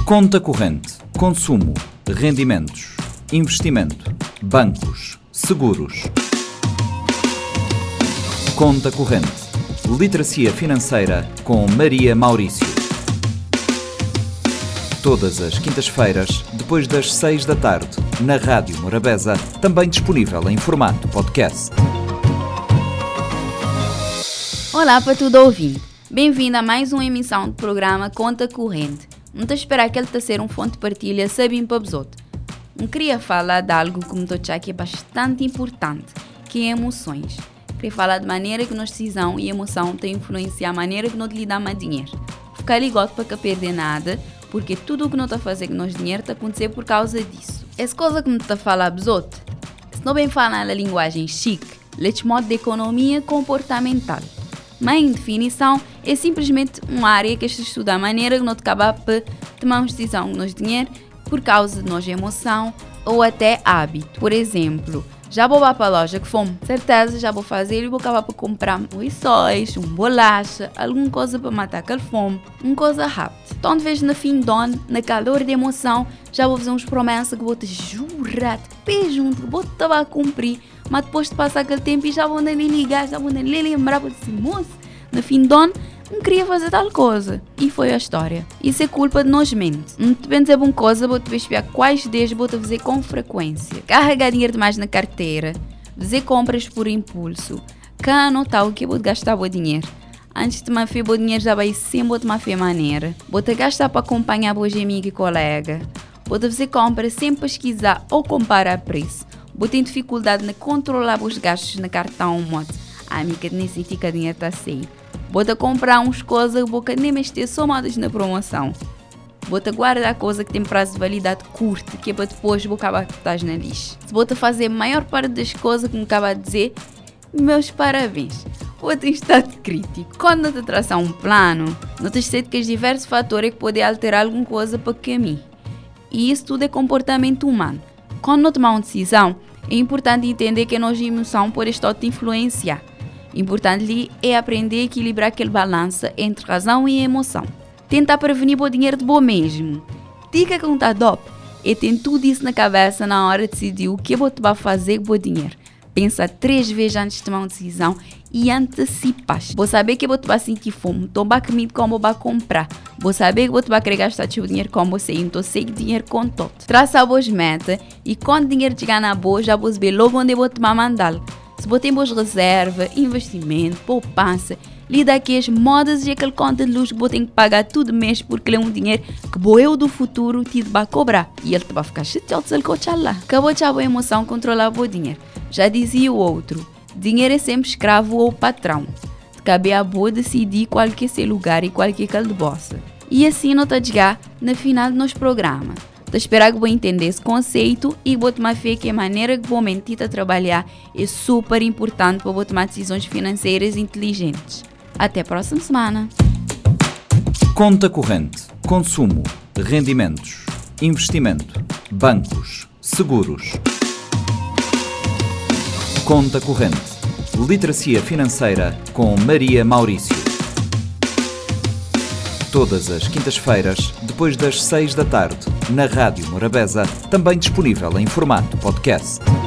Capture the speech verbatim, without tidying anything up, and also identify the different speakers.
Speaker 1: Conta corrente, consumo, rendimentos, investimento, bancos, seguros. Conta corrente, literacia financeira com Maria Maurício. Todas as quintas-feiras, depois das seis da tarde, na Rádio Morabeza, também disponível em formato podcast.
Speaker 2: Olá para tudo ouvinte. Bem-vindo a mais uma emissão do programa Conta Corrente. Não estou a esperar que ele está a ser um fonte de partilha sabendo para os outros. Não queria falar de algo que me estou a achar que é bastante importante, que é emoções. Queria falar de maneira que nossa decisão e emoção têm influência a maneira que nós lidamos com dinheiro. Ficar ligado para não perder nada, porque tudo o que nós está a fazer com nosso dinheiro está a acontecer por causa disso. Essa coisa que me está a falar dos outros, se não bem falar na linguagem chique, leite modo de economia comportamental. Mas, em definição, é simplesmente uma área que se estuda a maneira que nós acabamos por tomar uma decisão com nosso dinheiro por causa de nossa emoção ou até hábito. Por exemplo, já vou para a loja que fome, certeza já vou fazer e vou acabar por comprar um rissóis, um bolacha, alguma coisa para matar aquela fome, uma coisa rápida. Então, de vez no fim do ano, na calor de emoção, já vou fazer uns promessas que vou te jurar, de pé junto, que vou te a cumprir, mas depois de passar aquele tempo e já vou nem ligar, já vou nem lembrar para dizer, moço, no fim do ano, não queria fazer tal coisa. E foi a história. Isso é culpa de nós mesmos. Não te dizer uma coisa, vou te espiar quais dias vou te fazer com frequência. Carregar dinheiro demais na carteira, fazer compras por impulso, cá anotar o que vou gastar o dinheiro. Antes de me fazer o dinheiro já vai sempre te fazer maneira. Vou te gastar para acompanhar os amigos e colegas. Vou te fazer compras sem pesquisar ou comparar preço. Vou ter dificuldade em controlar os gastos no cartão moto. A amiga nem sentir que o dinheiro está sair. Vou te comprar uns coisas que vou nem mexer somadas na promoção. Vou te guardar coisa que tem prazo de validade curto, que é para depois vou acabar que estás na lixo. Se vou te fazer a maior parte das coisas que me acaba de dizer, meus parabéns. Vou ter estado crítico. Quando te traçar um plano, não te esqueças que os diversos fatores que podem alterar alguma coisa para o caminho. E isso tudo é comportamento humano. Quando não tomar uma decisão, é importante entender que a nossa emoção pode estar a te influenciar. Importante é aprender a equilibrar aquele balança entre razão e emoção. Tentar prevenir o dinheiro de bom mesmo. Dica que não está dope é ter tudo isso na cabeça na hora de decidir o que você vai fazer com o dinheiro. Pensa três vezes antes de tomar uma decisão e antecipas. Vou saber que você vai sentir fome, então vai comer como vai comprar. Vou saber que você vai querer gastar seu dinheiro como você, então sei que dinheiro com todo. Traça a boas metas e quando o dinheiro chegar na boa, já vou saber logo onde você vai mandar. Se você tem boas reservas, investimento, poupança, lida aqui as modas e aquele conta de luz que você tem que pagar todo mês porque é um dinheiro que o eu do futuro te vai cobrar. E ele te vai ficar chateado se ele coachar lá. Acabou de a boa emoção controlar o dinheiro. Já dizia o outro, dinheiro é sempre escravo ou patrão. Cabe a boa decidir qual que é seu lugar e qual que é aquele de bossa. E assim não está a chegar no final do nosso programa. Estou a esperar que vou entender esse conceito e vou tomar fé que a maneira que vou mentir a trabalhar é super importante para vou tomar decisões financeiras inteligentes. Até a próxima semana.
Speaker 1: Conta corrente, consumo, rendimentos, investimento, bancos, seguros. Conta corrente, literacia financeira com Maria Maurício. Todas as quintas-feiras, depois das seis da tarde, na Rádio Morabeza, também disponível em formato podcast.